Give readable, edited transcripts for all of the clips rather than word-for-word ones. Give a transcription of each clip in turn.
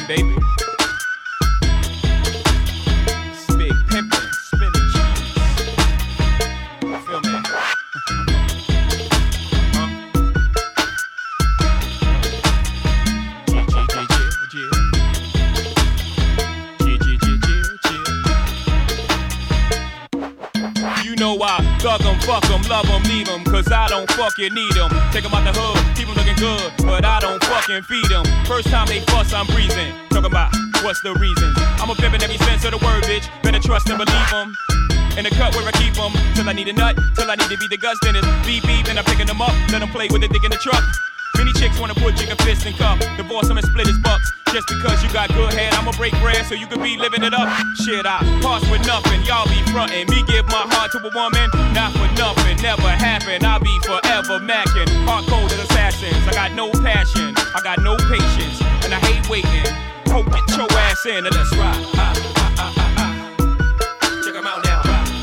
pimpin', baby. It's big pimpin', spinach. You feel me? You know I thug 'em, fuck 'em, love 'em, leave 'em, cause I don't fucking need 'em. Take 'em out the hood, keep 'em looking good, but I don't fucking feed 'em. First time they fuss, I'm breezing. Talking about what's the reason? I'm a pimp in every sense of the word, bitch. Better trust and believe 'em. In the cut where I keep 'em, till I need a nut, till I need to be the guts, then it's beep beep, and I'm picking 'em up, let 'em play with the dick in the truck. Many chicks wanna put chicken fist in cup, divorce 'em and split his bucks. Just because you got good head, I'ma break bread so you can be living it up. Shit, I pass with nothing, y'all be frontin'. Me give my heart to a woman, not for nothing, never happen. I'll be forever mackin', hard coded assassins. I got no passion, I got no patience, and I hate waiting. Ho, get your ass in and let's ride. Check 'em out now.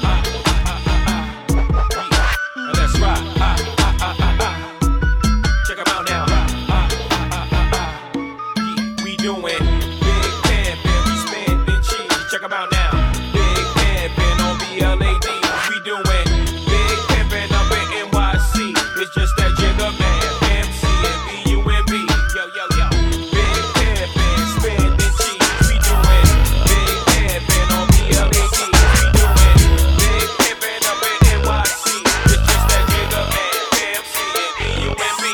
Let's ride. Check 'em out now. We doing big pimpin', we spendin' cheese. Check 'em out now. Big pimpin' on BLAD. We doing big pimpin' up in NYC. It's just that Jigga Man, MC and BUMB. Yo, yo, yo. Big pimpin', spendin' cheese. We doing big pimpin' on BLAD. We doing big pimpin' up in NYC. It's just that Jigga Man, MC and BUMB.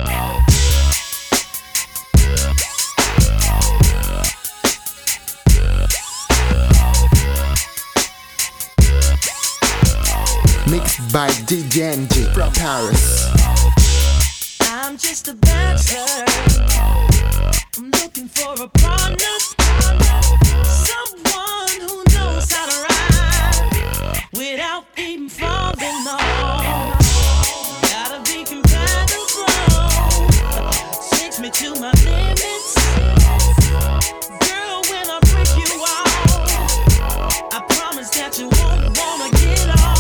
Mixed by DJ NG from Paris. I'm just a bachelor. I'm looking for a partner, someone who knows how to ride without even falling off. Gotta be compatible, takes me to my limits. Girl, when I break you off, I promise that you won't wanna get off.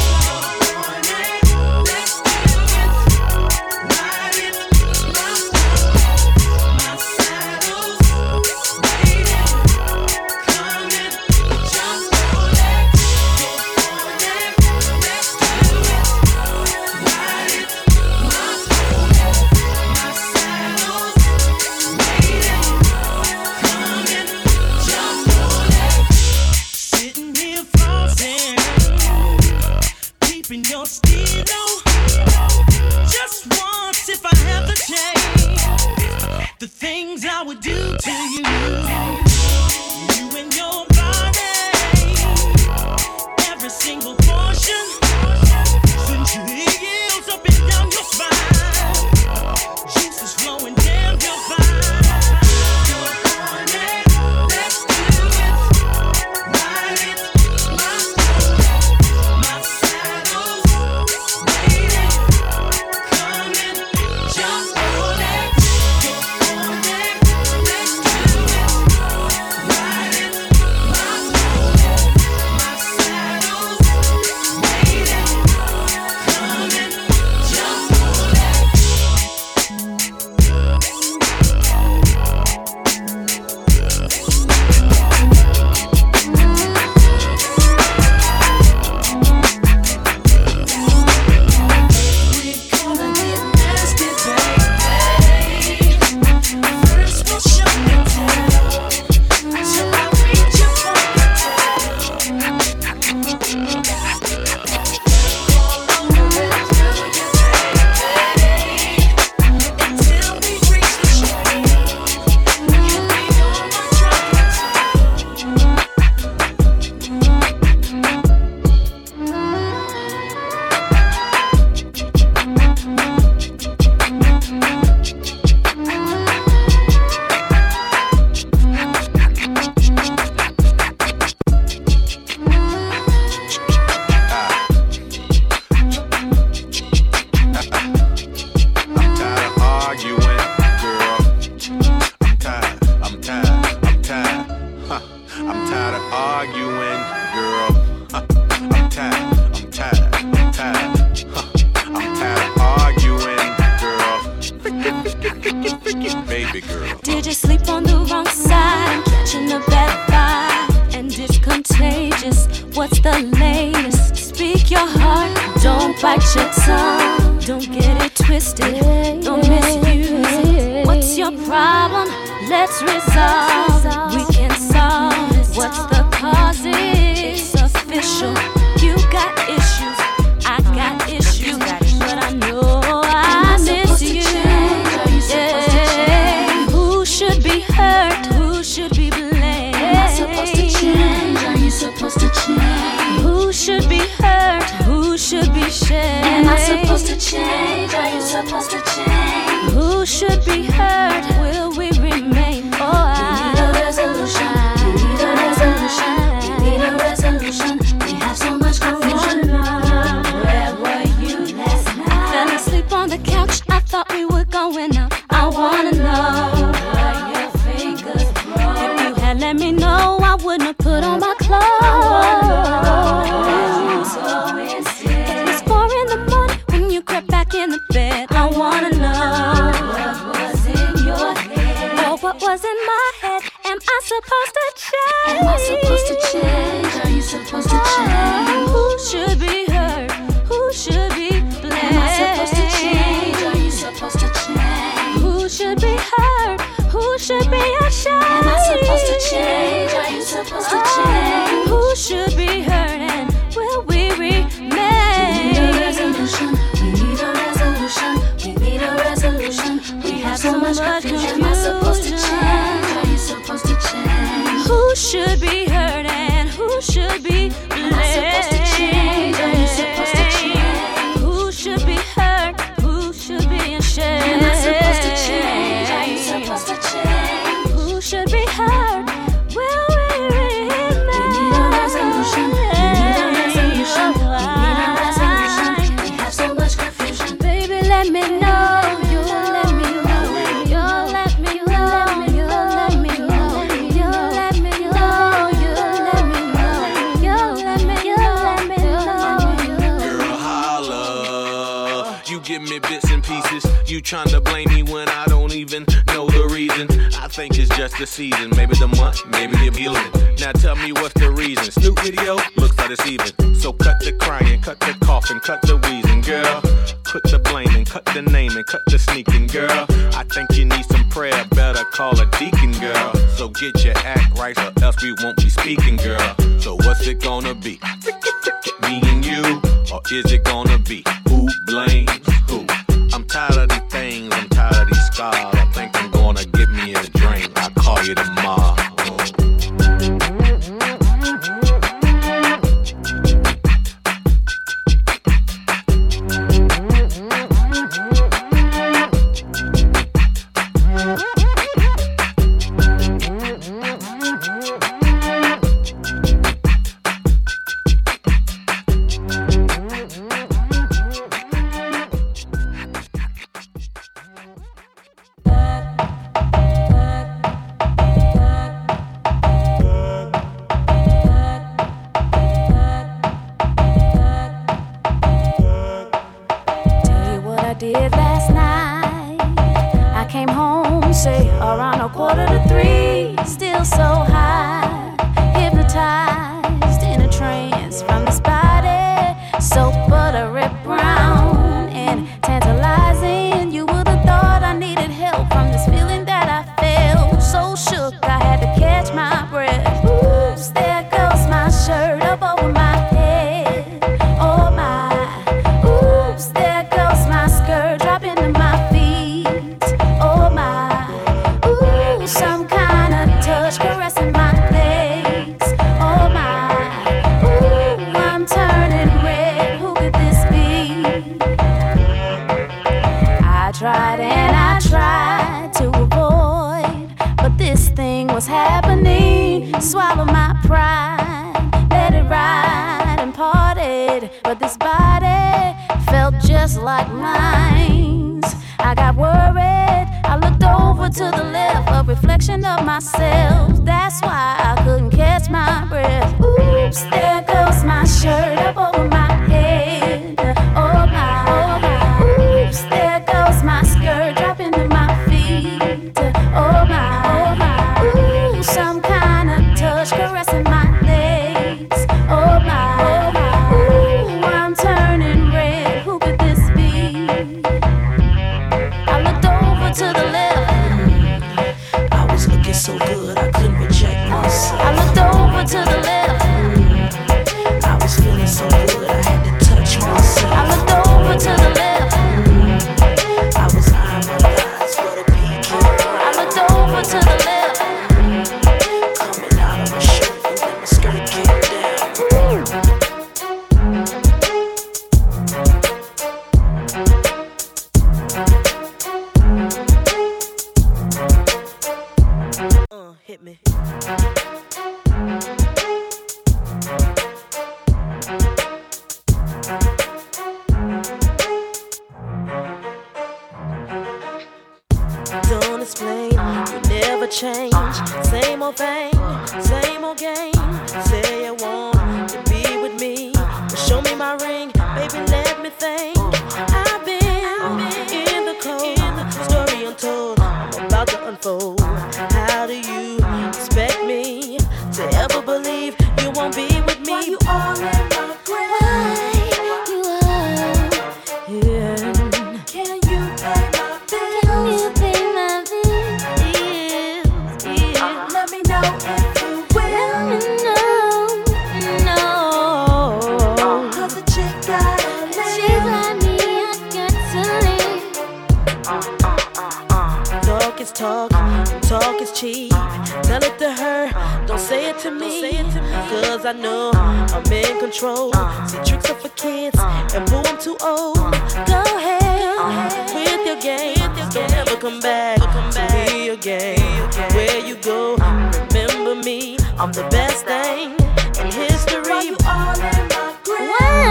Your stilo, just once if I have the chance, the things I would do to you, you and your body, every single portion, since your heels up and down your spine, juices flowing down your spine. Let's do it, ride it, my soul, my saddles. Did you sleep on the wrong side? bullshit song. Don't get it twisted, don't misuse it. What's your problem? Let's resolve. We can solve. What's the cause? It's official. You got issues, I got issues, but I know I miss you. Yeah. Who should be hurt? Who should be blamed? Am I supposed to change? Are you supposed to change? Who should be hurt? Who should be shamed? Am I supposed to change? Are you supposed to change? Who should be hurt? Will we remain? Oh, we need a resolution. We need a resolution. We need a resolution. We have so much confusion. Where were you last night? Fell asleep on the couch. I thought we were going out. I wanna know where your fingers broke. If you had let me know, I wouldn't have put on my clothes. It was 4 in the morning when you crept back in the bed. I wanna know what was in your head. Or what was in my head. Am I supposed to change? Am I supposed to change? Are you supposed to change? Who should be hurt? Who should be blamed? Am I supposed to change? Are you supposed to change? Who should be hurt? Who should be ashamed? Am I supposed to change? Are you supposed to change? Who should be hurt and will we remain? We need a resolution. We need a resolution. We need a resolution. We have so much confusion. Am I supposed to change? Are you supposed to change? Who should be hurt and who should be blamed? Am I supposed to change? Are you supposed to change? Who should be hurt? Who should be ashamed? Am I supposed to change? Are you supposed to change? Who should be hurt? Will we remain? We need a resolution. We need a resolution. We need a resolution. We have so much confusion. Baby, let me know. You let me know. You let me know. You let me know. You let me know. You let me know. You let me know. Girl, holla. You give me bits and pieces. You tryna blame me when I don't even know the reason. I think it's just the season. Maybe the month, maybe the feeling. Now tell me what's the reason. Snoop video looks like it's even. So cut the crying, cut the coughing, cut the wheezing, girl. Put the blaming, cut the naming, cut the sneaking, girl. I think you need some prayer, better call a deacon, girl. So get your act right or else we won't be speaking, girl. So what's it gonna be? Me and you? Or is it gonna be who blames who? I'm tired of these things, I'm tired of these scars. I think I'm gonna give me a drink. I'll call you tomorrow. Who change. Same old thing, same old game. Say you want to be with me, but show me my ring, baby, let me think. I've been in the cold, story untold, I'm about to unfold. How do you expect me to ever believe you won't be with me? Why you all in my grave? Can you pay my bills? Can you pay my bills? Let me know if you will. Let me know. Cause the chick got a leave. She got me, I got to leave. Talk is talk, talk is cheap. Tell it to her, don't say it to me. Cause I know I'm in control. See, tricks are for kids, and boo, I'm too old. Go ahead with your game. Don't ever come back to me again. Where you go, remember me. I'm the best thing in history. Why you all in my grave?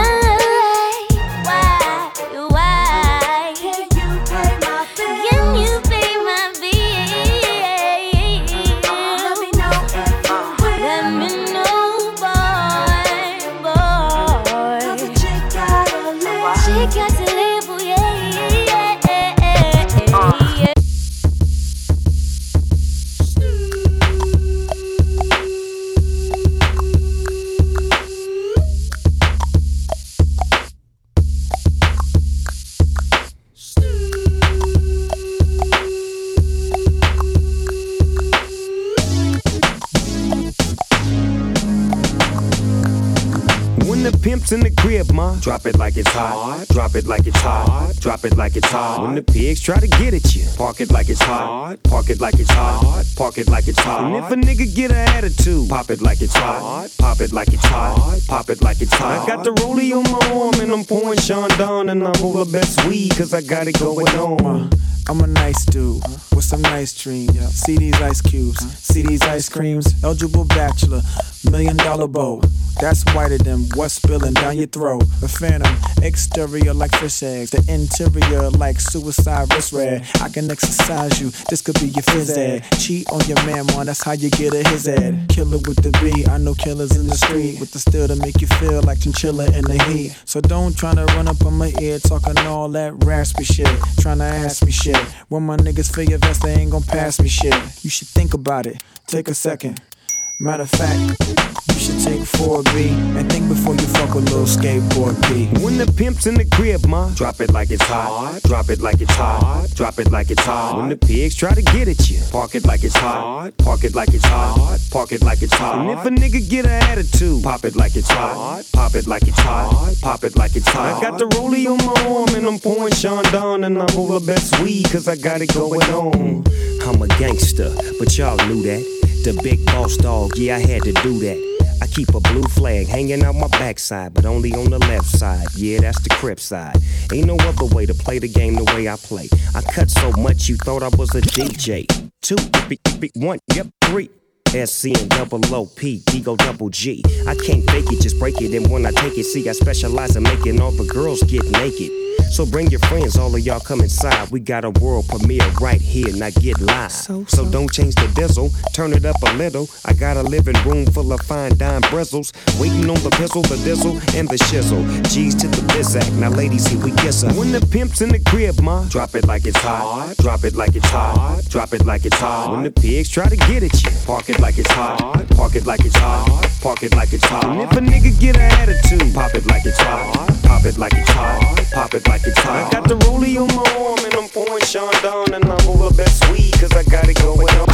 Why? Can you pay my bills? Can you pay my bills? Let me know if you will. Let me know, boy. Cause the chick gotta live. She got to live, oh yeah. Pimps in the crib, ma. Drop it like it's hot. Drop it like it's hot. Drop it like it's hot. When the pigs try to get at you, park it like it's hot. Park it like it's hot. Park it like it's hot. And if a nigga get an attitude, pop it like it's hot. Pop it like it's hot. Pop it like it's hot. I got the rollie on my arm and I'm pouring Sean Don and I'm all the best weed cause I got it going on. I'm a nice dude with some nice dreams. See these ice cubes, see these ice creams. Eligible bachelor, $1 million bow. That's whiter than what's spilling down your throat. A phantom, exterior like fish eggs, the interior like suicide wrist red. I can exercise you, this could be your phys ed. Cheat on your man, man, that's how you get a his ed. Killer with the B, I know killers in the street with the steel to make you feel like chinchilla in the heat. So don't tryna run up on my ear talking all that raspy shit, tryna ask me shit. When my niggas feel your vest, they ain't gon' pass me shit. You should think about it, take a second. Matter of fact, you should take 4B and think before you fuck with little skateboard P. When the pimp's in the crib, ma, drop it like it's hot. Drop it like it's hot. Drop it like it's hot. When the pigs try to get at you, park it like it's hot. Park it like it's hot. Park it like it's hot. And if a nigga get an attitude, pop it like it's hot. Pop it like it's hot. Pop it like it's hot. I got the rollie on my arm and I'm pouring Sean Don and I'm all the best weed cause I got it going on. I'm a gangster, but y'all knew that. The big boss dog, yeah, I had to do that. I keep a blue flag hanging out my backside, but only on the left side. Yeah, that's the Crip side. Ain't no other way to play the game the way I play. I cut so much you thought I was a DJ. 2, 1, yep, 3. SC and double OP, Ego double G. I can't fake it, just break it. And when I take it, see, I specialize in making all the girls get naked. So bring your friends, all of y'all come inside. We got a world premiere right here, now get live. So don't change the diesel, turn it up a little. I got a living room full of fine dime bristles. Waiting on the pistol, the diesel, and the shizzle. G's to the bizac, now ladies, here we kiss her. When the pimp's in the crib, ma, drop it like it's hot. Drop it like it's hot. Drop it like it's hot. When the pigs try to get at you, park it like it's hot. Park it like it's hot. Park it like it's hot. And if a nigga get an attitude, pop it like it's hot. Pop it like it's hot. Pop it like it's hot. I got the rollie on my arm and I'm pouring Sean Don and I'm all the best weed cause I got it going on.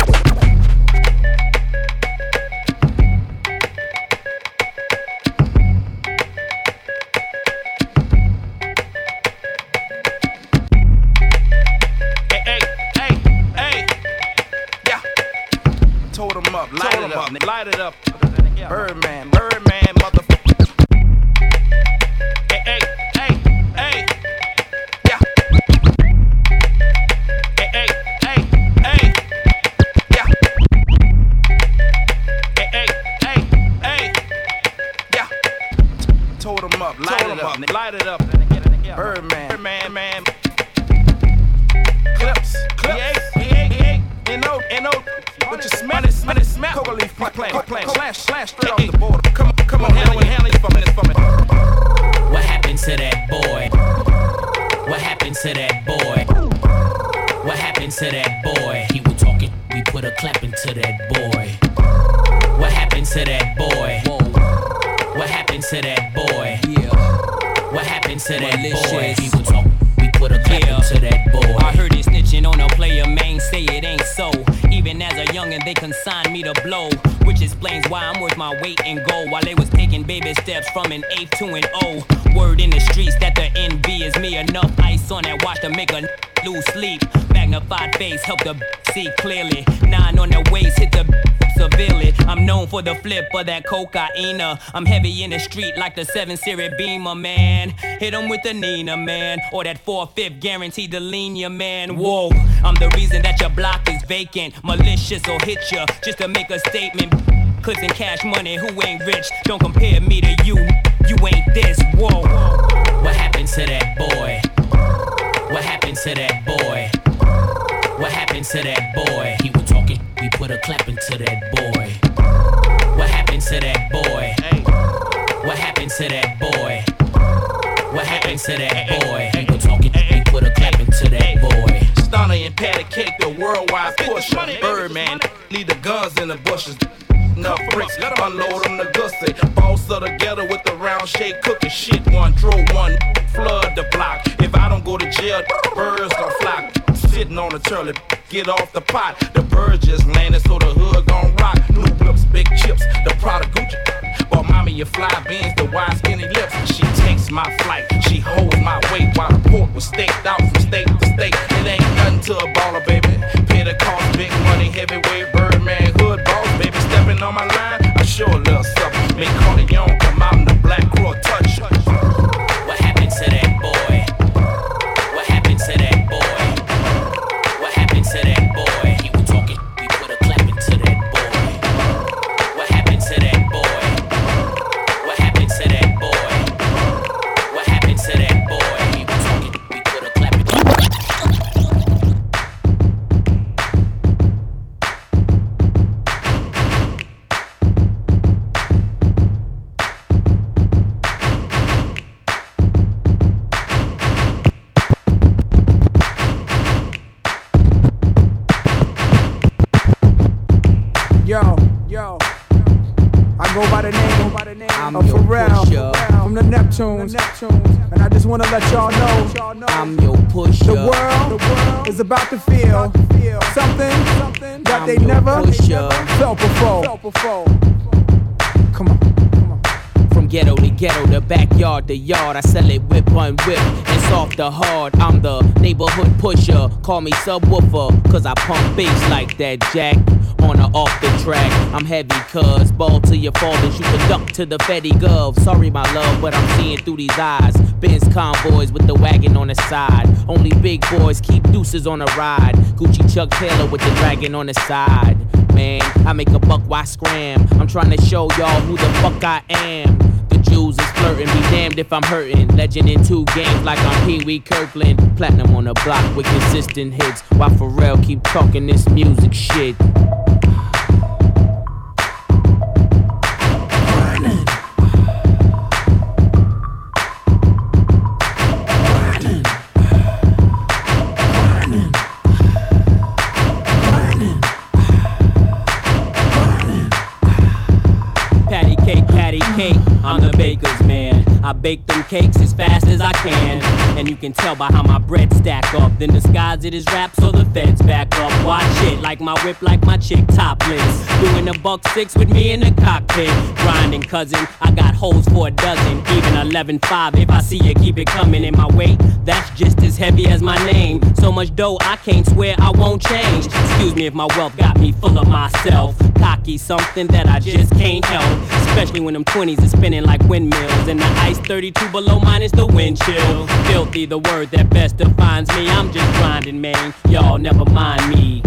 Light it up, Birdman, motherfucker. Hey, yeah. Hey, yeah. Hey, yeah. Told him up, light it up, Birdman, man. Clips, he ain't, no. Slash straight off the border. Come on, handle it for me. What happened to that boy? What happened to that boy? What happened to that boy? He was talking, we put a clap into that boy. What happened to that boy? Whoa. What happened to that boy? Yeah. What happened to that boy? He was talking, we put a clap into that boy. I heard it snitching on a player, man, say it ain't so. Even as a youngin', they consigned me to blow, which explains why I'm worth my weight in gold. While they was taking baby steps from an 8 to an O. Word in the streets that the NB is me. Enough ice on that watch to make a lose sleep. Magnified face help the see clearly. 9 on the waist hit the severely. I'm known for the flip of that cocaine. I'm heavy in the street like the 7 Series Beamer, man. Hit 'em with the Nina, man. Or that 4/5 guaranteed to lean ya, man. Whoa, I'm the reason that your block is vacant. Malicious or hit ya just to make a statement. Clips and cash money, who ain't rich? Don't compare me to you, you ain't this. Whoa. What happened to that boy? What happened to that boy? What happened to that boy? He was talking, we put a clap into that boy. What happened to that boy? What happened to that boy? What happened to that boy? He was talking, we put a clap into that boy. Stunner and patty cake, the worldwide pusher. Birdman, leave the guns in the bushes. Enough bricks, unload on the gusset. Boss of the ghetto with the round shake cooking shit. One draw, one flood the block. If I don't go to jail, birds gon' flock. Sitting on the turtle, get off the pot. The birds just landed, so the hood gon' rock. New whips, big chips, the product Gucci. Bought mommy your fly beans, the wide skinny lips. She takes my flight, she holds my weight while the pork was staked out from state to state. It ain't nothing to a baller, baby. Pay the cost, big money, heavyweight, Birdman, hood boss, baby. Stepping on my line, I show a little something. Make Corleone come out in the black claw touch. What happened to that boy? What happened to that boy? What happened to that boy? He was talking, we put a clap into that boy. What happened to that boy? What happened to that boy? What happened to that boy? He was talking, we put a clap into that boy. Yo, I go by the name of Pharrell from the Neptunes, and I just wanna let y'all know I'm your pusher. the world is about to feel something that they never felt before. Come on. From ghetto to ghetto, the backyard to yard, I sell it whip on whip and soft to hard. I'm the neighborhood pusher, call me subwoofer, cause I pump bass like that jack. On or off the track, I'm heavy cuz ball to your fathers, you can duck to the Fetty Gov. Sorry my love, but I'm seeing through these eyes. Benz convoys with the wagon on the side. Only big boys keep deuces on the ride. Gucci Chuck Taylor with the dragon on the side. Man, I make a buck, why scram? I'm trying to show y'all who the fuck I am. The Jews is flirting, be damned if I'm hurting. Legend in 2 games like I'm Pee Wee Kirkland. Platinum on the block with consistent hits, while Pharrell keep talking this music shit. I'm the baker's man. I bake them cakes as fast as I can, and you can tell by how my bread stack up. Then disguise it as rap so the feds back up. Watch it, like my whip, like my chick topless. Doing a $1.6 with me in the cockpit. Grinding, cousin, I got holes for a dozen. Even 11.5, if I see you, keep it coming in my weight. That's just as heavy as my name. So much dough, I can't swear I won't change. Excuse me if my wealth got me full of myself. Cocky, something that I just can't help. Especially when them 20s is spinning like windmills, and the ice 32 below minus the wind chill. Filthy, the word that best defines me. I'm just grinding, man. Y'all never mind me.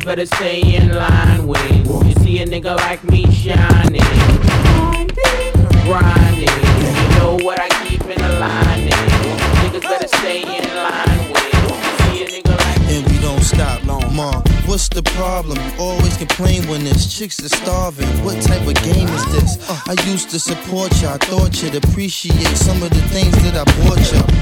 better stay in line with. You see a nigga like me shining, grinding. You know what I keep in the line. Niggas better stay in line with. You see a nigga like me. And we don't stop long, Mom. What's the problem? You always complain when there's chicks that starving. What type of game is this? I used to support you. I thought you'd appreciate some of the things that I bought you.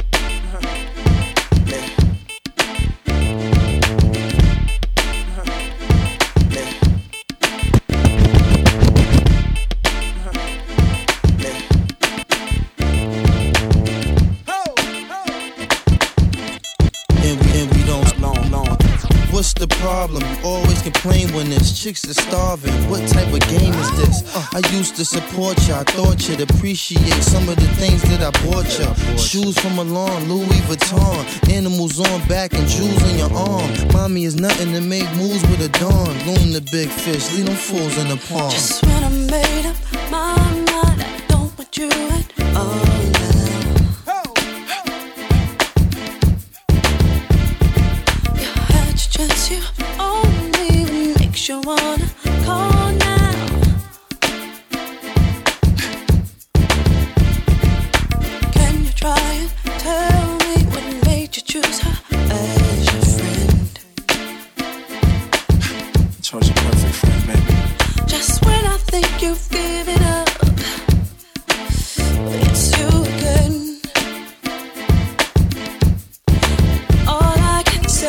What's the problem? You always complain when there's chicks that starving. What type of game is this? I used to support you. I thought you'd appreciate some of the things that I bought you. Shoes from Milan, Louis Vuitton, animals on back and jewels on your arm. Mommy is nothing to make moves with a dawn. Loom the big fish, leave them fools in the pond. Just when I made up my mind, I don't want you at all. Just you only makes you wanna call now. Can you try and tell me what made you choose her as your friend? Chose your perfect friend, baby. Just when I think you've given up, it's you again. All I can say.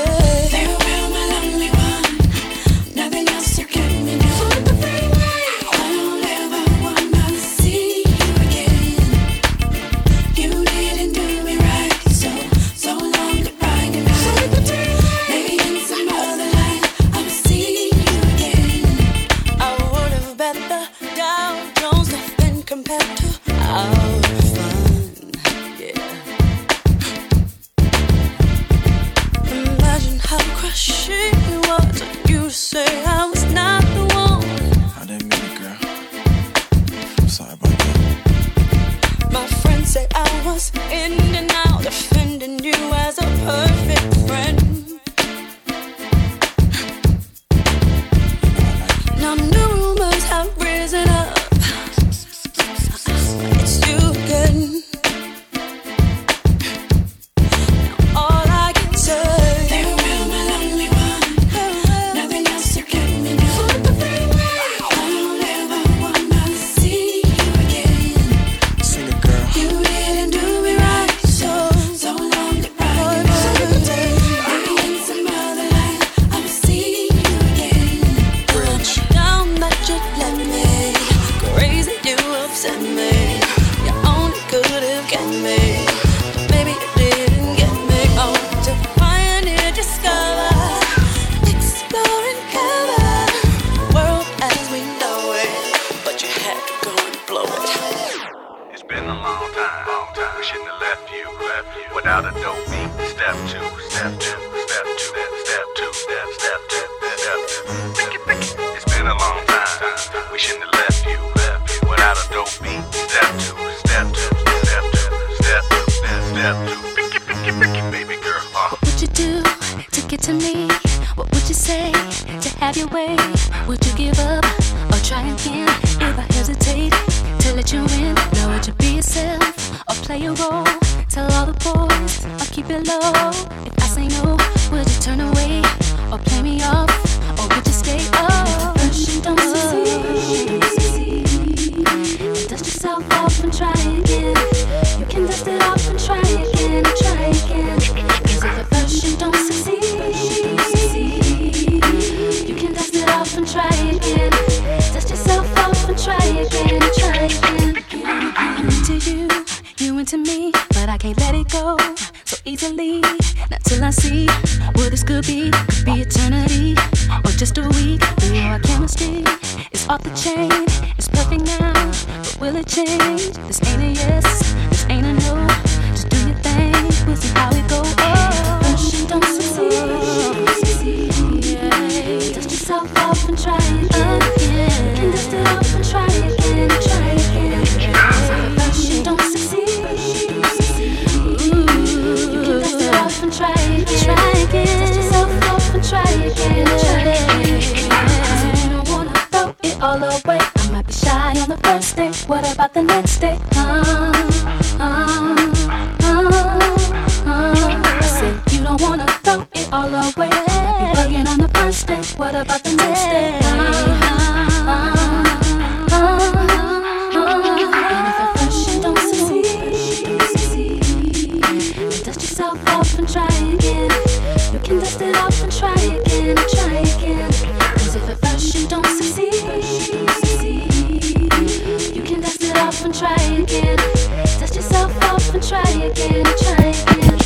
Try again. Dust yourself off and try again. it all away. I might be shy on the first day. What about the next day? I said you don't wanna throw it all away. Might be bugging on the first day. What about the next day? And if at first you don't succeed, dust yourself off and try again. You can dust it off and try again and try again. 'Cause if at first you don't succeed, you can dust it off and try again. Dust yourself off and try again and try again.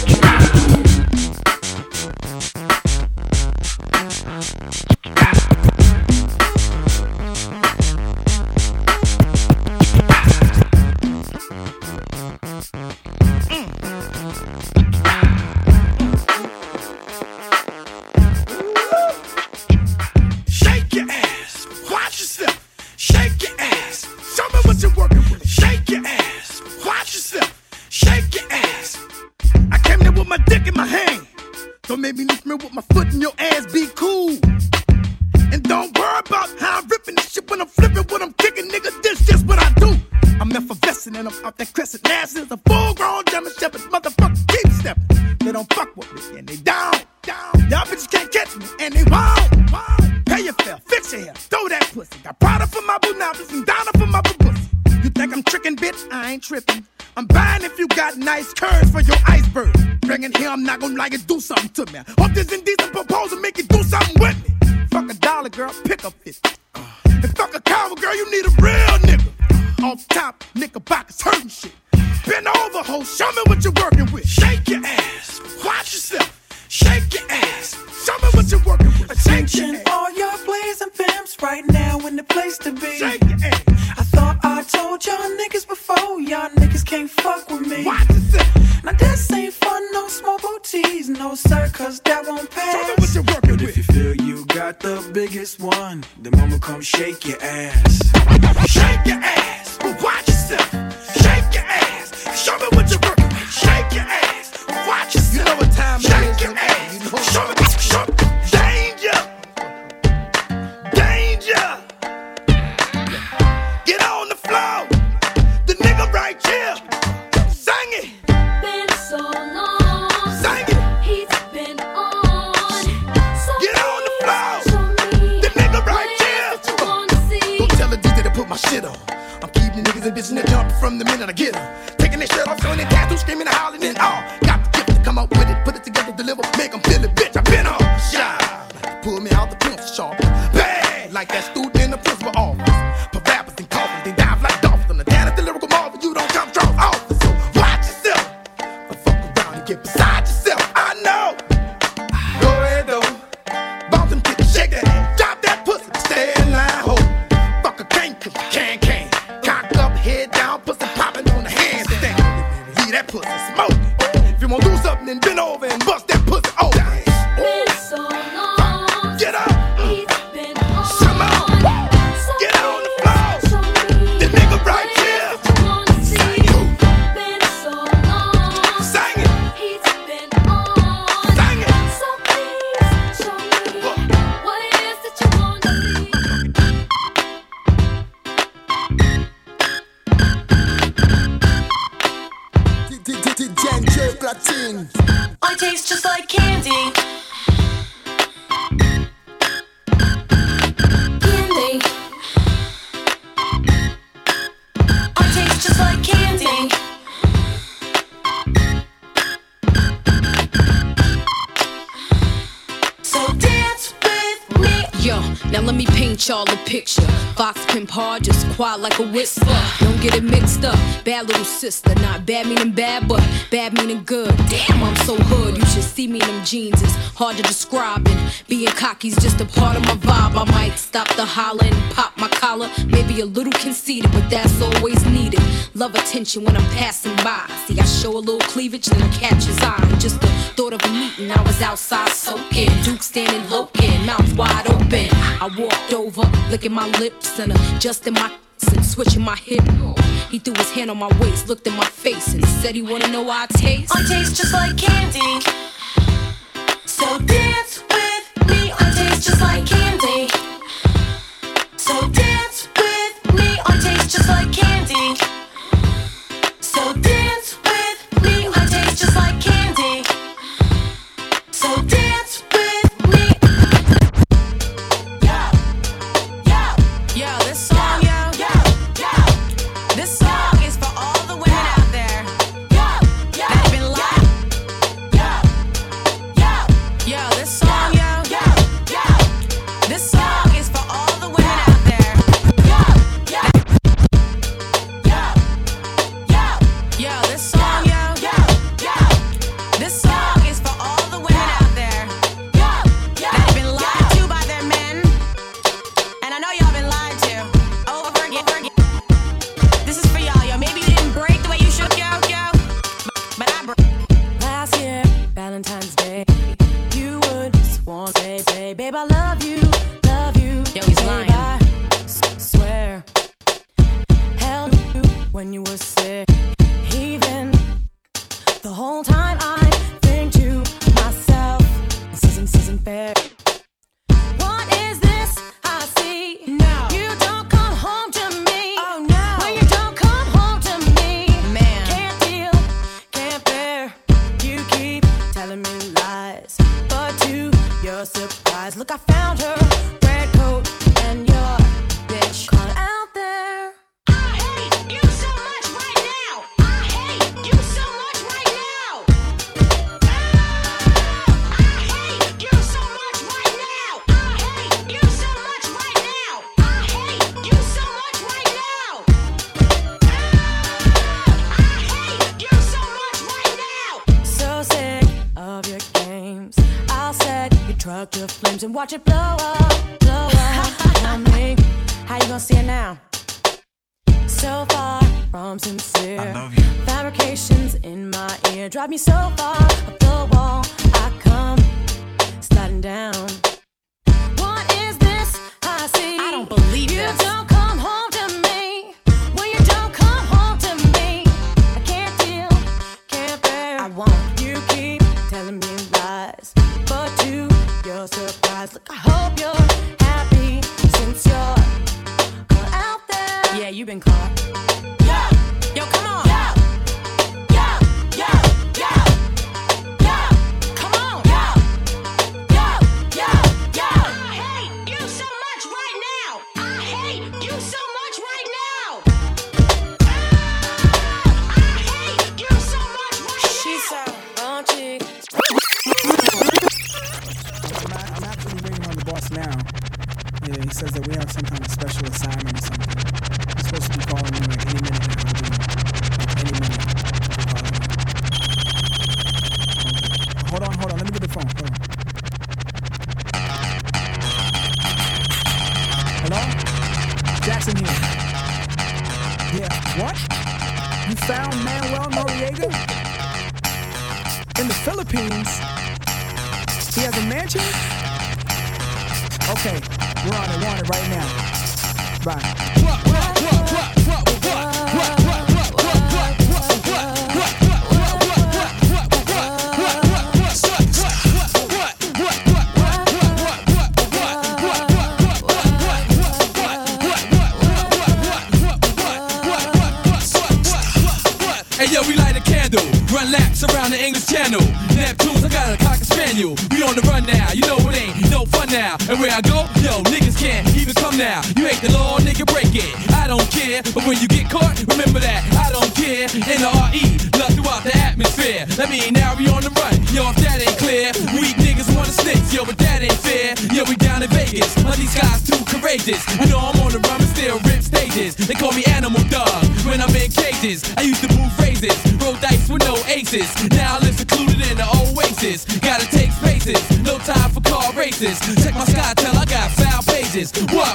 Shake your ass, watch yourself. Shake your ass, show me what you're working with. Shake your ass, watch yourself. Shake your ass. I came there with my dick in my hand. Don't make me lift me with my foot in your ass, be cool. And don't worry about how I'm ripping this shit when I'm flipping, when I'm kicking, nigga, this just what I do. I'm effervescing and I'm out that crescent. Ass is a full-grown German Shepherd, motherfucker, keep stepping. They don't fuck with me and they down. Y'all bitches can't catch me and they won't. Pay your fare, fix your hair, throw that pussy. Got Prada for my boonabbas and Donna for my pussy. You think I'm tricking, bitch? I ain't tripping. I'm buying if you got nice curves for your iceberg. Bring it here, I'm not gonna like it, do something to me. Hope this indecent proposal make you do something with me. Fuck $1, girl, pick up 50. And fuck a coward, girl, you need a real nigga. Off top, knickerbockers hurting shit. Bend over, ho, show me what you're working with. Shake your ass, watch yourself. Shake your ass, show me what you're working with. Attention, all y'all players and pimps, right now in the place to be. Shake your ass. I thought I told y'all niggas before, y'all niggas can't fuck with me. Watch yourself. Now this ain't fun, no small booties, no sir, 'cause that won't pass. Show me what you're working But with. if you feel you got the biggest one, then mama come shake your ass. Shake your ass, watch yourself. Shake your ass, show me what you're working with. Shake your ass, watch yourself. You know what time it is. Shake your ass, show me, show me. Danger, danger. Get on the floor, the nigga right here. Sing it, Been so long, sing it. he's been on. So Get on the floor, show me the nigga right what it here. is that you wanna see. Don't tell the DJ to put my shit on. I'm keeping niggas and bitches in the jump from the minute I get them. Taking their shirt off, showing their tattoos, screaming and howling and all. Got the gift to come up with it, put it together, deliver, make them feel it, bitch. I been on shy. Pull me out the pencil sharp. Bad, like that student in the principal office. Put rappers and coffins, they dive like dolphins. I'm the dad of the lyrical marvel, you don't come strong office. So watch yourself. But fuck around and get beside yourself. I know. Go ahead though. Bounce them titties, shake that ass, drop that pussy, stay in line, ho. Fuck a can't, cause you can. Cock up, head down, pussy popping on the handstand. Leave that pussy smoke. If you wanna do something, then bend over and bust that pussy open. Been so long, Get up, he's been on. come on, So get on the floor. show me The nigga right what it is here. that you wanna see. Been so long, Sing it, he's been on. sing it. So please show me what it is that you wanna see. DJ Platine. I taste just like candy. Candy. I taste just like candy. So dance with me. Yo, now let me paint y'all a picture. Fox pimp hard, just quiet like a whisper. Don't get it mixed up. Bad little sister, not bad meaning bad, but bad meaning good. Damn, I'm so hood. You should see me in them jeans. It's hard to describe, and being cocky's just a part of my vibe. I might stop the hollering, pop my collar, maybe a little conceited, but that's always needed. Love attention when I'm passing by. See, I show a little cleavage, then I catch his eye. Just the thought of a meeting, I was outside soaking. Duke standing loking, mouth wide open. I walked over, licking my lips and adjusting my and switching my hip. He threw his hand on my waist, looked in my face, and said he wanna know how I taste. I taste just like candy. So dance with me. I taste just like candy. So dance dreams and watch it blow up on me. How you gonna see it now? So far from sincere. I love you. Fabrications in my ear drive me so far up the wall. I come sliding down. What is this I see? I don't believe you this. Don't come home to me. When you don't come home to me, I can't deal, can't bear. I want you keep telling me lies, but to your surprise, look, I hope you're happy since you're caught out there. Yeah, you've been caught. Yo, come on. Come on. I hate you so much right now. I hate you so much right now. I hate you so much right now. She's so raunchy. I'm actually waiting on the boss now. Yeah, he says that we have some kind of special assignment or something. He's supposed to be calling me like any minute now. Any minute. Hold on. Let me get the phone. Hold on. Hello? Jackson here. Yeah, what? You found Manuel Noriega? In the Philippines? He has a mansion? Okay, we're on it right now. Bye. Hey yo, we light a candle, run laps around the English Channel. Neptunes, I got a cocker spaniel. We on the run now, you know it ain't no fun now. And where I go, yo, niggas can't even come now. You make the law, nigga, break it. I don't care, but when you get caught, remember that I don't care. N-R-E, love throughout the atmosphere. That mean now we on the run, yo, if that ain't clear. Weak niggas wanna snitch, yo, but that ain't fair. Yo, we down in Vegas, but these guys too courageous. You know I'm on the run, but still rip stages. They call me Animal Dog when I'm in cages. I used to move phrases, roll dice with no aces. Now I live secluded in the oasis. Gotta take spaces, no time for car races. Check my sky till I got foul pages. What?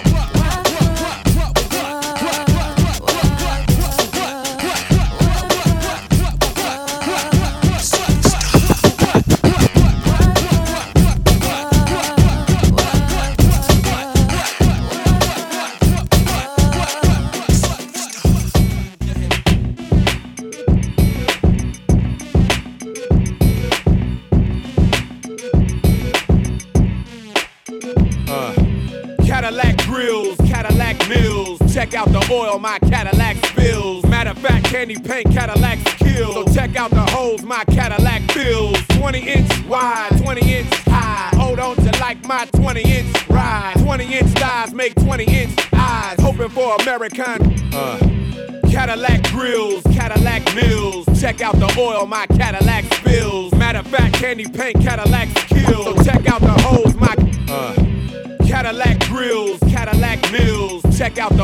Cadillac grills, Cadillac mills. Check out the oil my Cadillac spills. Matter of fact, candy paint Cadillacs kill. So check out the holes my Cadillac fills. 20-inch wide, 20-inch high. Hold on to like my 20-inch ride. 20-inch thighs make 20-inch eyes. Hoping for American. Cadillac grills, Cadillac mills. Check out the oil my Cadillac spills. Matter of fact, candy paint Cadillacs kill. So check out the holes my Cadillac grills, Cadillac mills. Check out the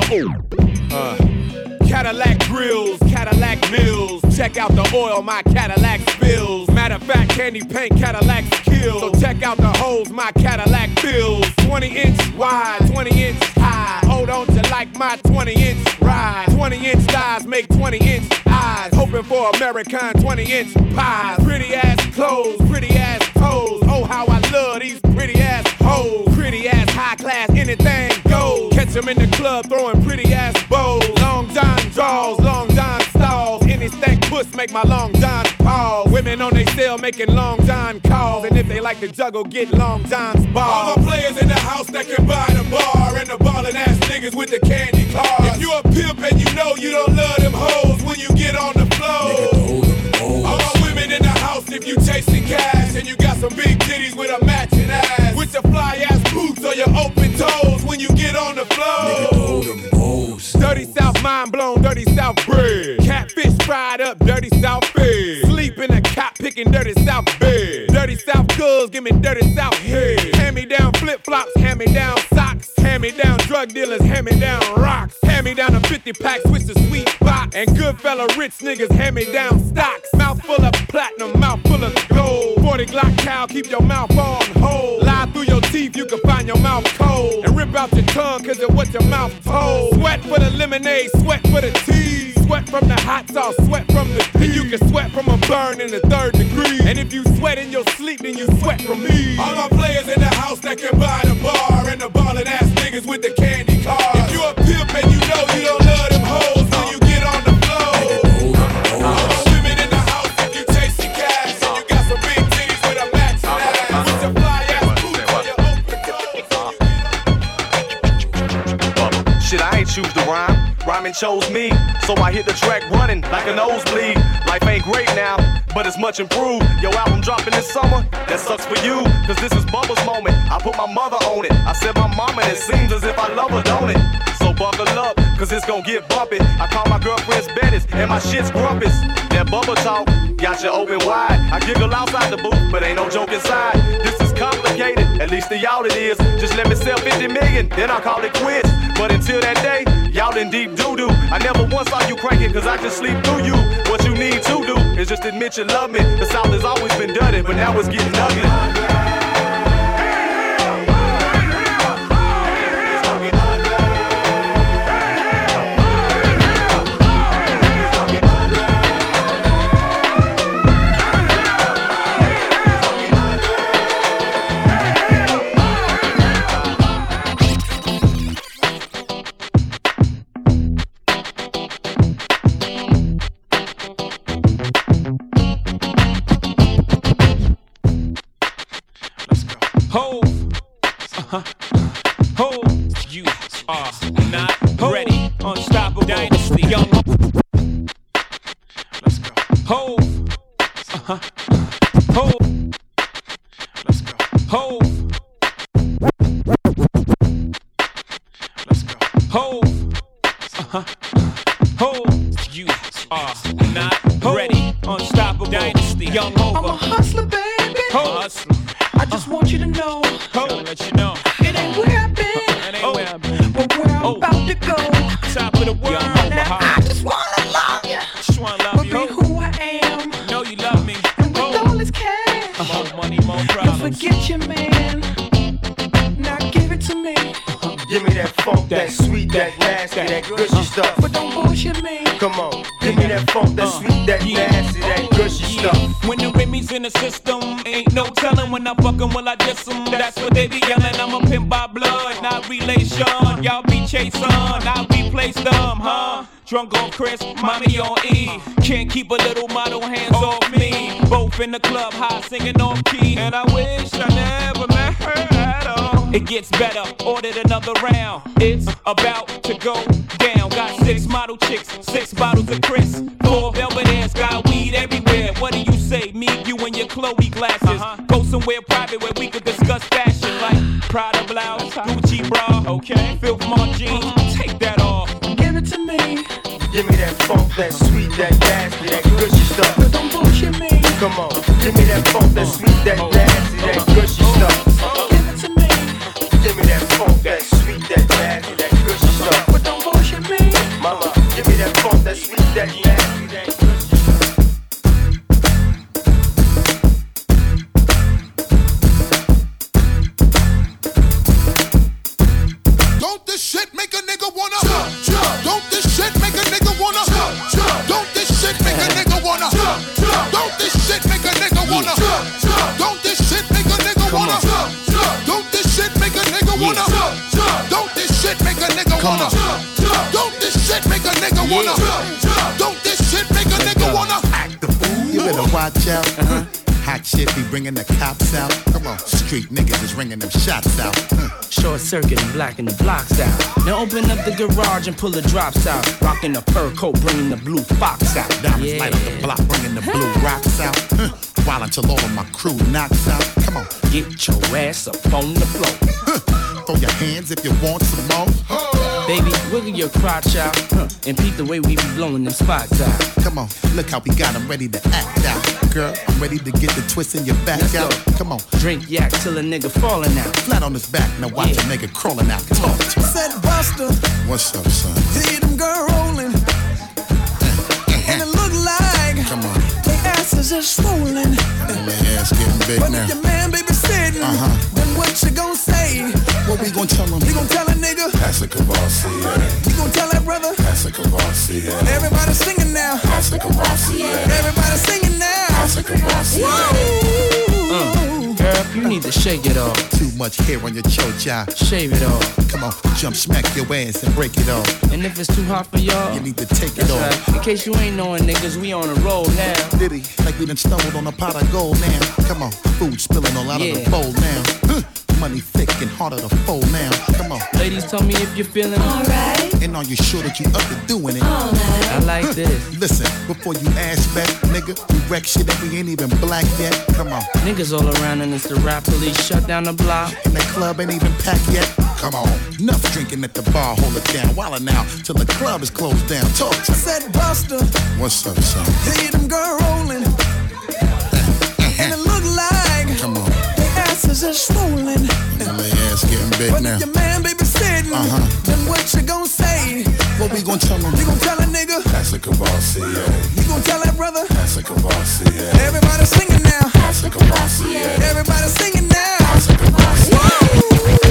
Cadillac grills, Cadillac mills. Check out the oil my Cadillac spills. Matter of fact, candy paint Cadillacs kill. So check out the holes my Cadillac fills. 20-inch wide, 20-inch high. Hold on to like my 20-inch ride. 20-inch thighs make 20-inch eyes. Hoping for American 20-inch pies. Pretty ass clothes, pretty ass toes. Oh, how I love these pretty ass hoes. Pretty ass high class, anything goes. Catch them in the club throwing pretty ass bows. Long John draws, Long John stalls. Any stank puss make my Long John pause. Women on they cell making Long John calls. And if they like to juggle, get Long John's balls. All the players in the house that can buy the bar. And the ballin' ass niggas with the candy cars. If you a pimp and you know you don't love them hoes when you get on the floor. All my women in the house if you chasing cash. And you got some big titties with a matching ass. With your fly ass boots or your open toes when you get on the floor. Dirty South mind blown, dirty South bread. Catfish fried up, dirty South fed. Sleep in a cot picking dirty South bed. Dirty South girls, give me dirty South head. Hand me down flip flops, hand me down socks. Hand me down drug dealers, hand me down rocks. Hand me down a 50 pack, switch the sweet box. And good fella rich niggas, hand me down stocks. Mouth full of platinum, mouth full of gold. 40 Glock cow, keep your mouth on hold. Lie through your teeth, you can find your mouth cold. And rip out your tongue, cause of what your mouth told. Sweat for the lemonade, sweat for the tea. Sweat from the hot sauce, sweat from the tea. And you can sweat from a burn in the 3rd degree. And if you sweat in your sleep, then you sweat from me. All my players in the house that can buy the bar. And the ballin' ass niggas with the candy car. If you a pimp and you know you don't love them hoes, when you get on the floor. All the women in the house, if you chasing cash. And you got some big titties with a max ass. With your fly ass boots on your open toes. Shit, I ain't choose the rhyme. Rhyming chose me, so I hit the track running like a nosebleed. Life ain't great now, but it's much improved. Your album dropping this summer, that sucks for you, cause this is Bubba's moment. I put my mother on it, I said my mama, and it seems as if I love her, don't it? So buckle up, cause it's gon' get bumpy. I call my girlfriends Bettis, and my shit's grumpus. That Bubba talk, got you open wide. I giggle outside the booth, but ain't no joke inside. This is complicated, at least to y'all it is. Just let me sell 50 million, then I'll call it quits. But until that day, y'all in deep doo-doo. I never once saw you cranking, cause I just sleep through you. What you need to do is just admit you love me. The South has always been dirty, but now it's getting ugly. You are not ready. Unstoppable dynasty. Young. Let's go. Hove. Hove. Let's go. Hove. Let's go. Hove. Hove. You are not ready. Unstoppable dynasty. Young Hova. I'm a hustler, baby. Hustler. I just want you to know. I'll let you know. It ain't where I've been. But where I'm about to go. Top of the world. Now I just wanna love you. Just wanna love you. Be who I am. Know you love me. And with all this cash. More money, more problems. Don't forget your man. Now give it to me. Give me that funk, that sweet, that nasty, that gushy stuff. But don't bullshit me. Come on, give me that funk, that sweet, that nasty, that gushy stuff. When the Remy's in the system, ain't no telling when I fuck 'em, will I diss 'em? That's what they be yelling. I'm a pimp by blood, not relation. Y'all be chasing, I replace them, huh? Drunk on Chris, mommy on E. Can't keep a little model hands off me. Both in the club, high singing off key. And I wish I never met her at all. It gets better, ordered another round. It's about to go down. Got 6 model chicks, 6 bottles of Chris. 4 velvet ass, got weed everywhere. What do you say? Me, you, and your Chloe glasses. Go somewhere private where we could discuss fashion, like Prada blouse, Gucci bra, okay? Filth Mark jeans, take that off. Give it to me. Give me that funk, that sweet, that nasty, that gushy stuff. But don't bullshit me. Come on, give me that funk, that sweet, that nasty, that gushy stuff. Give it to me. Give me that funk, that sweet, that nasty, that gushy stuff. But don't bullshit me. Mama, give me that funk, that sweet, that nasty, that gushy stuff. Don't this shit make a nigga wanna Don't this shit make a nigga wanna Don't this shit make a nigga wanna Don't this shit make a nigga wanna Don't this shit make a nigga wanna Don't this shit make a nigga wanna Don't this shit make a nigga wanna Don't this shit make a nigga wanna Don't this shit make a nigga wanna Act the fool. You better watch out. Hot shit be bringing the cops out. Come on, street niggas is ringing them shots out. Short circuit and blacking the blocks out. Now open up the garage and pull the drops out. Rocking the fur coat, bringing the blue fox out. Diamonds light up the block, bringing the blue rocks out. While until all of my crew knocks out. Come on, get your ass up on the floor. Throw your hands if you want some more. Baby, wiggle your crotch out and peep the way we be blowing them spots out. Come on, look how we got them ready to act out. Girl, I'm ready to get the twist in your back out. Come on, drink yak till a nigga falling out. Flat on his back, now watch a nigga crawling out. Talk to him. Said Buster, what's up, son? See them girl rolling, and it look like come on, their asses are swollen. And their ass getting big but now. But if your man baby sitting, then what what you gon' say? What we gon' tell them? You gon' tell a nigga? That's a Cavassier. You gon' tell that brother? That's a Cavassier. Everybody singing now. That's a Cavassier. Everybody singing now. That's a Cavassier. Girl, you need to shake it off. Too much hair on your chocha. Shave it off. Come on, jump, smack your ass and break it off. And if it's too hot for y'all, you need to take it off. Right. In case you ain't knowing, niggas, we on the road now. Diddy, like we done stumbled on a pot of gold now. Come on, food spilling all out of the bowl now. Money thick and harder to fold now. Come on. Ladies, tell me if you're feeling alright. And are you sure that you up to doing it? I like this. Listen, before you ask back, nigga, we wreck shit that we ain't even black yet. Come on. Niggas all around and it's the rap police shut down the block. And the club ain't even packed yet. Come on. Enough drinking at the bar, hold it down. Wildin' now till the club is closed down. Talk to me. Said Buster. What's up, son? Hey, them girl rolling. And it look like. Come on. Asses are swollen. And my ass getting big but now. But if your man baby sitting, then what you gon' say? What we gon' tell him? You gon' tell a nigga? That's a Cavassier. You gon' tell that brother? That's a Cavassier. Everybody singing now. That's a Cavassier. Everybody singing now. That's a Cavassier.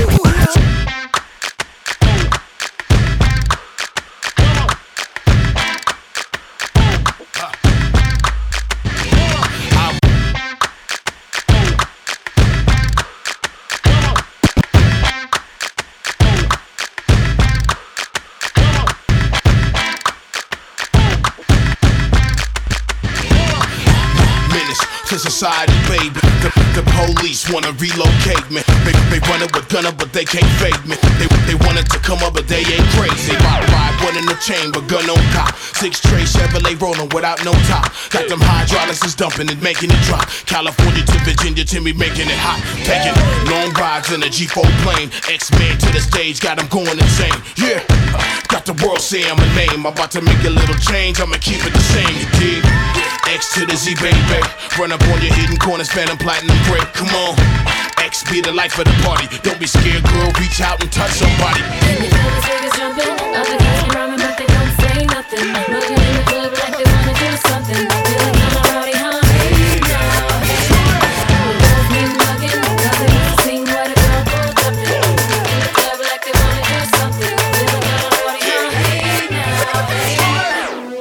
To society, baby. The police wanna relocate me. They run it with gunner, but they can't fake me. They wanted to come up, but they ain't crazy. Ride one in the chamber, gun on cop. 6 tray Chevrolet rolling without no top. Got them hydraulics is dumping and making it drop. California to Virginia to me making it hot. Taking long rides in a G4 plane. X-Men to the stage, got them going insane. Yeah, got the world saying my name. I'm about to make a little change, I'ma keep it the same, you dig? X to the Z, baby. Run up on your hidden corners, phantom platinum break. Come on, X be the life of the party. Don't be scared, girl. Reach out and touch somebody. And you know these niggas jumping, other guys be rhyming, but they don't say nothing. Looking in the club like they wanna do something. Feel like I'm already home. Hey now, hey now. Girls be mugging, nothing to sing what a girl pulled up in. In the club like they wanna do something. Feel like I'm already home. Hey now, hey now.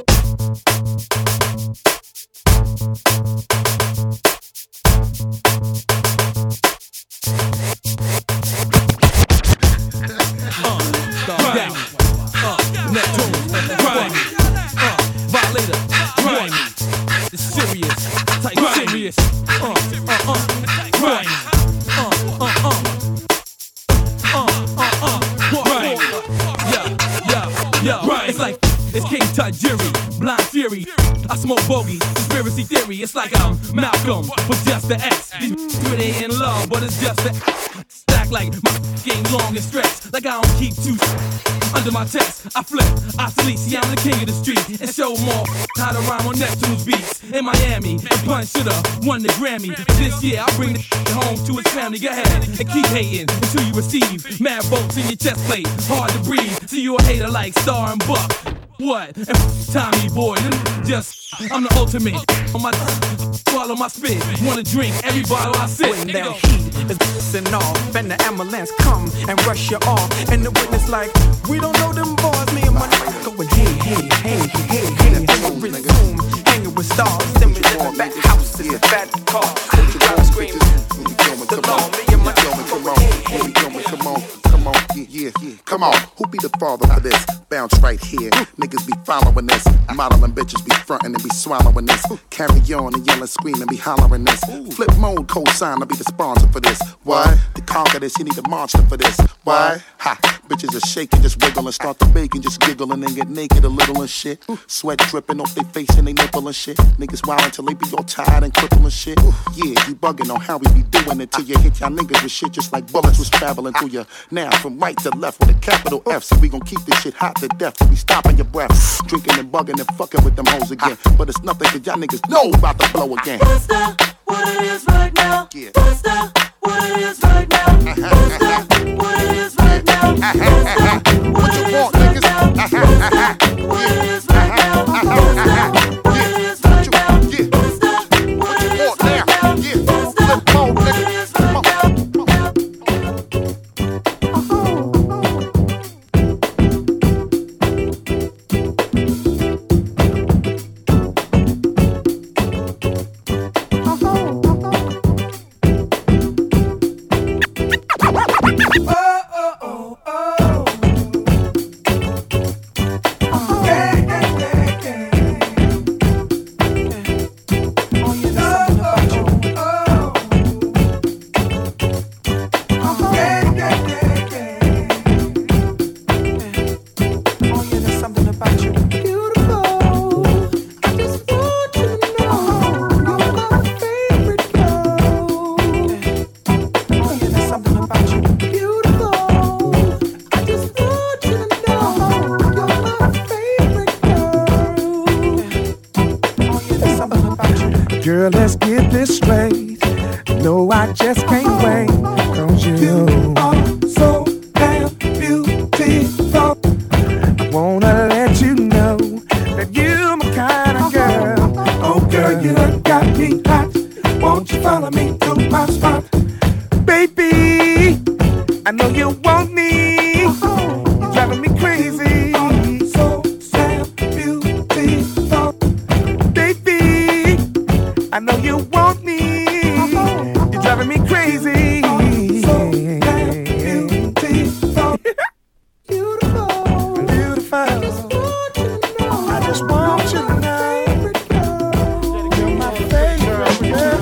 It's King Tajiri, Blind Fury. I smoke bogey, conspiracy theory. It's like I'm Malcolm, but just the X. These really ain't in love, but it's just the stack like my game long and stretched. Like I don't keep two under my chest. I flip, obsolete. See, I'm the king of the street and show more how to rhyme on Neptune's beats. In Miami, and Pun shoulda won the Grammy. This year, I'll bring the home to his family. Go ahead and keep hating until you receive mad bolts in your chest plate. Hard to breathe. See you a hater like Star and Buck. What? And Tommy boy, I'm the ultimate. On my swallow my spit. Wanna drink every bottle I sip. When that heat is pissing off, and the ambulance come and rush you off, and the witness like, we don't know them boys. Me and my niggas going hey. And we resume hanging with stars. Then we in the back house in the back car. The girl screaming. The law, me and my niggas going hey. Come on, who be the father for this? Bounce right here. Niggas be following this. Modeling bitches be frontin' and be swallowing this. Carry on and yelling, screaming, be hollering this. Flip mode, co-sign, I'll be the sponsor for this. Why? To conquer this, you need a monster for this. Why? Ha! Bitches are shaking, just wiggle and start to bake and just giggle and then get naked a little and shit. Sweat dripping off their face and they nipple and shit. Niggas wild until they be all tired and crippled and shit. Yeah, you bugging on how we be doing it till you hit y'all niggas with shit just like bullets was traveling through you. Now from right to left with a capital F, so we gon' keep this shit hot to death till we stopping your breath. Drinking and bugging and fucking with them hoes again. But it's nothing cause y'all niggas know about to blow again. What's that? What it is right now? What's that? What it is right now? What's that? What it is right now? What you want, niggas? What it is right now? What it is right now? What you want now? Yeah, flip mode, niggas. Girl, let's get this straight. No, I just can't wait. 'Cause you are so damn beautiful. I wanna let you know that you're my kind of girl. Oh girl, you done got me hot. Won't you follow me to my spot? Baby, I know you want me. You're driving me crazy. So damn beautiful. Baby, I know you want me. You're driving me crazy. So damn beautiful. Beautiful. Beautiful. I just want you to know. You're my favorite girl.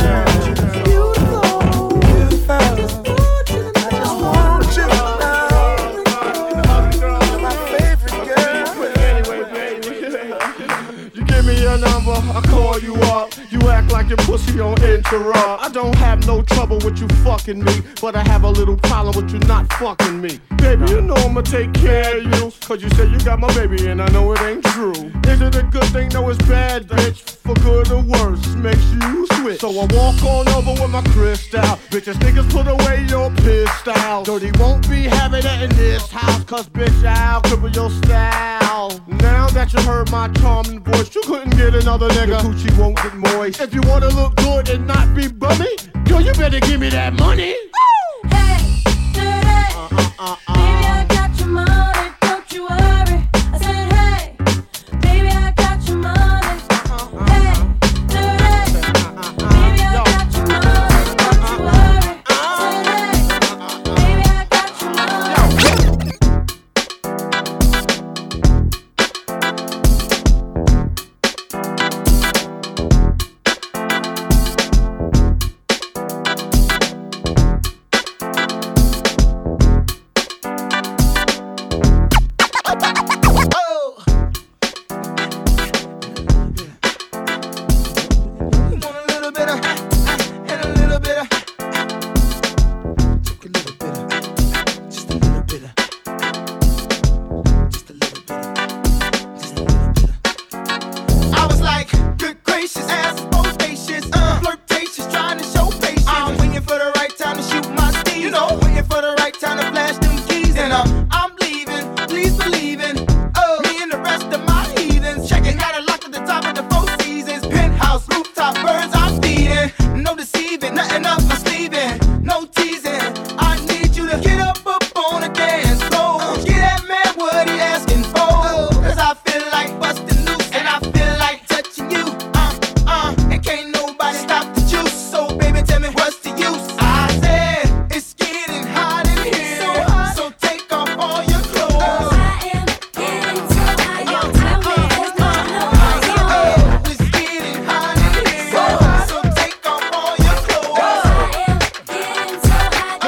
I call you up, you act like your pussy on interrupt. I don't have no trouble with you fucking me, but I have a little problem with you not fucking me. Baby, you know I'ma take care of you, 'cause you say you got my baby and I know it ain't true. Is it a good thing? No, it's bad, bitch. For good or worse, makes you switch. So I walk on over with my crystal. Bitches, niggas, put away your pistol. Dirty won't be having it in this house, 'cause bitch, I'll cripple your style. Now that you heard my charming voice, you couldn't get another nigga. Your coochie won't get moist. If you wanna look good and not be bummy, girl, you better give me that money. Hey, dirty. Baby, I got your money, don't you worry. I said, hey, baby, I got your money. Hey, dirty. Baby, I got your money, don't you worry. I said, hey, baby, I got your money. I was like, good gracious, ass bodacious, flirtatious, trying to show patience. I'm waiting for the right time to shoot my steam. You know, waiting for the right time to flash them keys. And I'm leaving, please believe in me and the rest of my heathens. Checking out a lock at the top of the Four Seasons. Penthouse, rooftop, birds I'm feeding. No deceiving, nothing up my sleeving. No teasing, I need you to get up on the dance floor. Get that man what he asking for. 'Cause I feel like busting loose and I feel like touching you. And can't nobody stop the juice. So baby, tell me what's the use? I said it's getting hot in here, so take off all your clothes. I am getting so hot, you tell me there's no clothes. It's getting hot in here, so take off all your clothes. I am getting so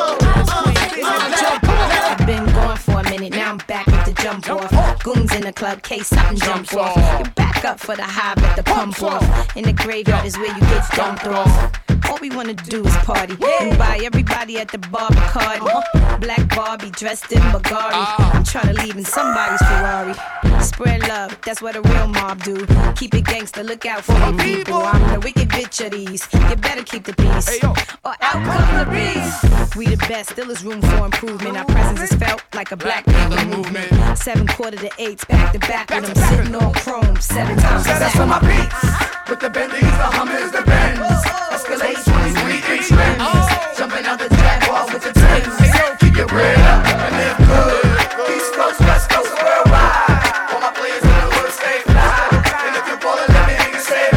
hot, I've been gone for a minute, now I'm back with the jump off. Goons in the club, case something jump off. You back up for the high, but the pump off. In the graveyard is where you get dumped off. All we wanna do is party and buy everybody at the bar Bacardi. Black Barbie dressed in Bulgari. I'm tryna leave in somebody's Ferrari. Spread love, that's what a real mob do. Keep it gangster, look out for the people. I'm the wicked bitch of these. You better keep the peace, or out come the beast. We the best, still is room for improvement. Our presence is felt like a black people movement. 7/4 to 8, back to back with them sitting on chrome 7 times. That's for my beats. With the Bentleys, the Hummers, the Benz. Escalade 23-inch rims. Jumping out the Jaguar with the Timbs. Keep your bread up and live good. East Coast, West Coast, worldwide. All my players in the hood stay fly. And if you're ballin', let me hear you say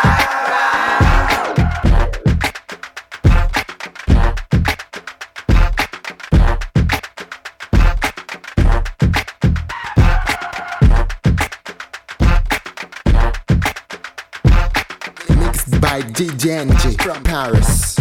Mixed by DJ NG from Paris.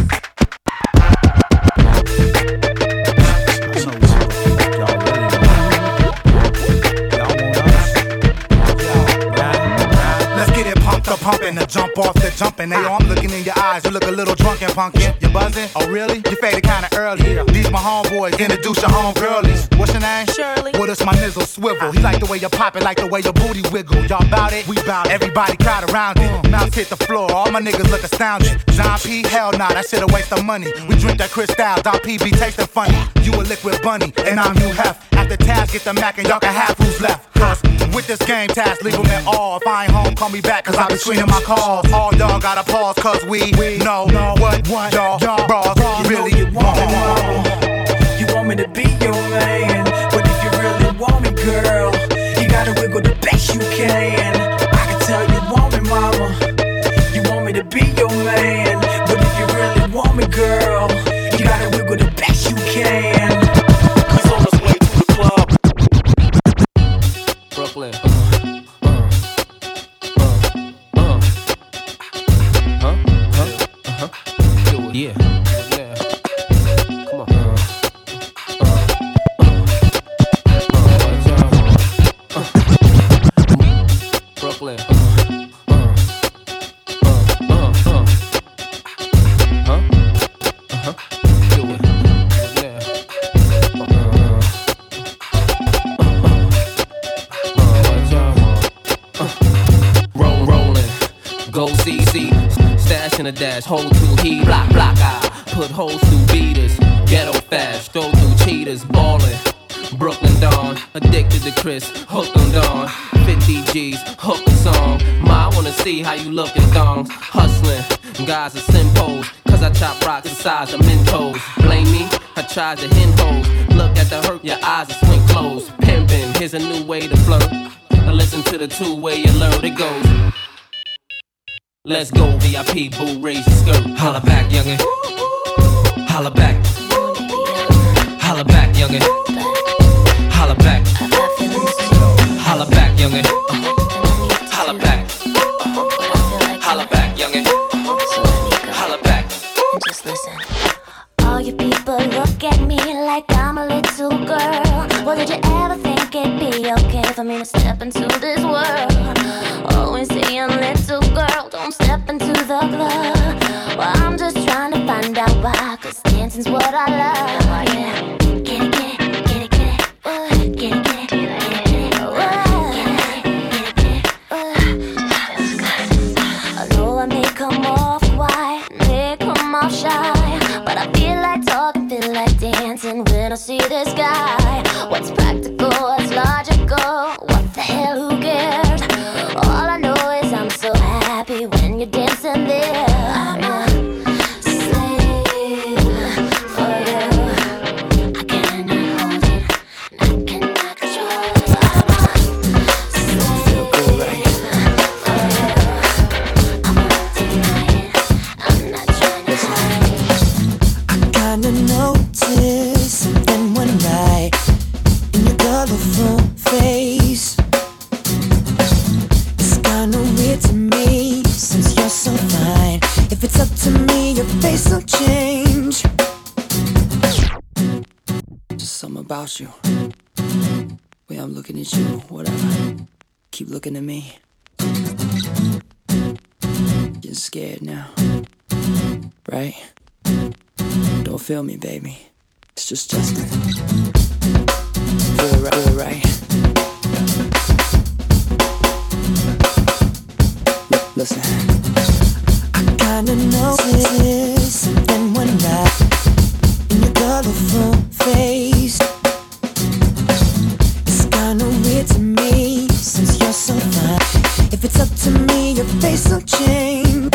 Let's get it pumped up, pumping the jump off the jumping. Hey, yo, I'm looking in your eyes. You look a little drunken, punkin'. You buzzing? Oh, really? You faded kinda early. These my homeboys. Introduce your homegirlies. What's your name? Shirley. Well, it's my nizzle swivel. He like the way you pop it, like the way your booty wiggle. Y'all bout it? We bout it. Everybody crowd around it. Mouths hit the floor. All my niggas look astounded. John P, hell nah, that shit a waste of money. We drink that Cristal. Don P be tasting funny. You a liquid bunny, and I'm you hef. After task, get the Mac and y'all can have who's left. Cause with this game task, leave them at all. If I ain't home, call me back, cause I be screening my calls. All y'all gotta pause, cause we know what y'all bras really want. You want me to be your man, but if you really want me, girl, you gotta wiggle the best you can. I can tell you want me, mama. You want me to be your man, but if you really want me, girl, you gotta wiggle the best you can. He's on his way to the club. Brooklyn. Yeah. Come on. Brooklyn. Rolling. Go CC. Stash in a dash. Hold to heat. Block. Put holes through beaters. Ghetto fast. Throw through cheaters. Ballin'. Brooklyn Dawn, addicted to Chris, hooked on Dawn, 50 G's, hooked on song. Ma, I wanna see how you look in thongs, hustling, guys are simpos, cause I chop rocks the size of Mentos. Blame me, I tried to hen hoes, look at the hurt, your eyes are swing closed. Pimpin', here's a new way to flirt, now listen to the two-way alert, it goes. Let's go, VIP, boo, raise your skirt. Holla back, youngin'. Holla back. Holla back, youngin'. Holla back. Holla back, youngin'. Holla back. Holla back, youngin'. Holla back. Just listen. All you people look at me like I'm a little girl. Well, did you ever think it'd be okay for me to step into this world? Always saying, little girl, don't step into the club. Well, I'm just trying to find out why, cause dancing's what I love. Yeah. Get it. I know I may come off quiet, may come off shy, but I feel like talking, feel like dancing when I see this guy. What's practical, what's logical, what the hell, who cares? All I know is I'm so happy when you're dancing there. I'm a slave for you. I cannot hold it, I cannot control it. I'm a slave for you. I'm not denying, I'm not trying to hide. I kinda noticed something one night in your colorful face. It's kinda weird to me since you're so fine. If it's up to me, your face will change. Just something about you. Way I'm looking at you, whatever. Keep looking at me. Getting scared now, right? Don't feel me, baby. It's just Justin. Feel right. Listen. I kinda noticed something one night in your colorful face. It's kinda weird to me since you're so fine. If it's up to me, your face will change.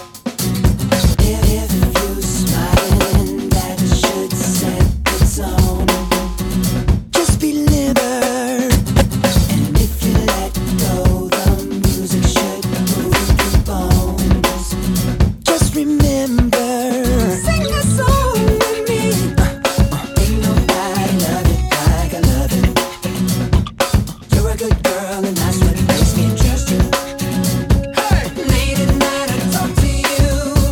If you smiling, that should set the tone. Just be liber, and if you let go, the music should move your bones. Just remember, sing a song with me. Ain't nobody love it like I love it. You're a good girl, and that's what makes me trust you. Late at night I talk to you.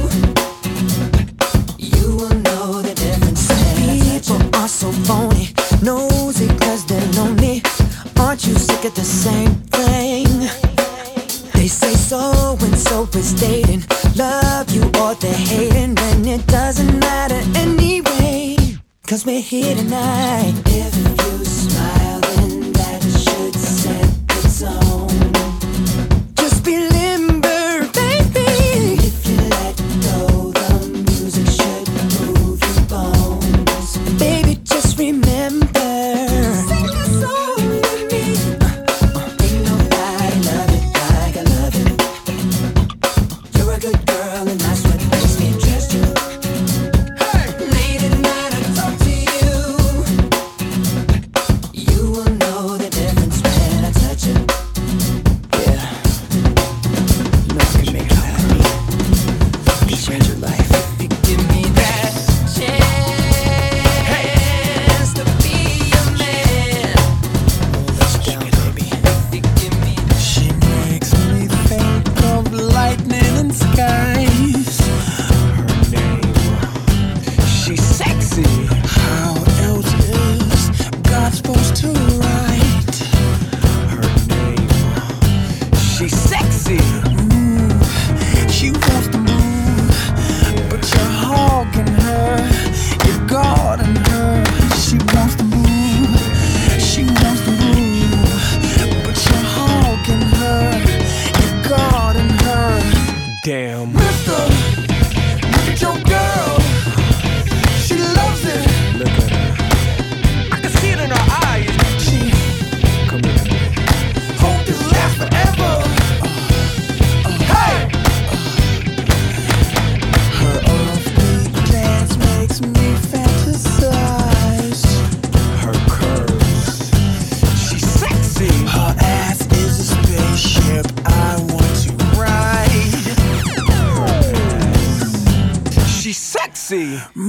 You will know the difference. People are so phony, nosy 'cause they're lonely. Aren't you sick of the same thing? They say so and so is dating, love you or they're hating, and it doesn't matter anyway, 'cause we're here tonight. If you smile, then that should set the tone. Just be limber, baby. If you let go, the music should move your bones. Baby, just remember, sing a song with me. Ain't nobody love it like I love it. You're a good girl and that's what makes me trust you. Late at night I talk to you. You will know the difference when I touch you. Yeah, you know I can make it happen. I can change your life. You give me that chance to be your man. Let's down, baby. You give me that. She makes me think of lightning and skies. Her name, she's sexy. How else is God supposed to write her name? She's sexy. She wants to move, but you're hogging her. You're guarding her. She wants to move. She wants to move, but you're hogging her. You're guarding her. Damn. Mister, look at your girl. She loves it. Look at her. I can see it in her eyes. She, come here. Hope this lasts forever. Hey! Her offbeat dance makes me fantasize. Her curves, she's sexy. Her ass is a spaceship I want to ride. Her ass, she's sexy.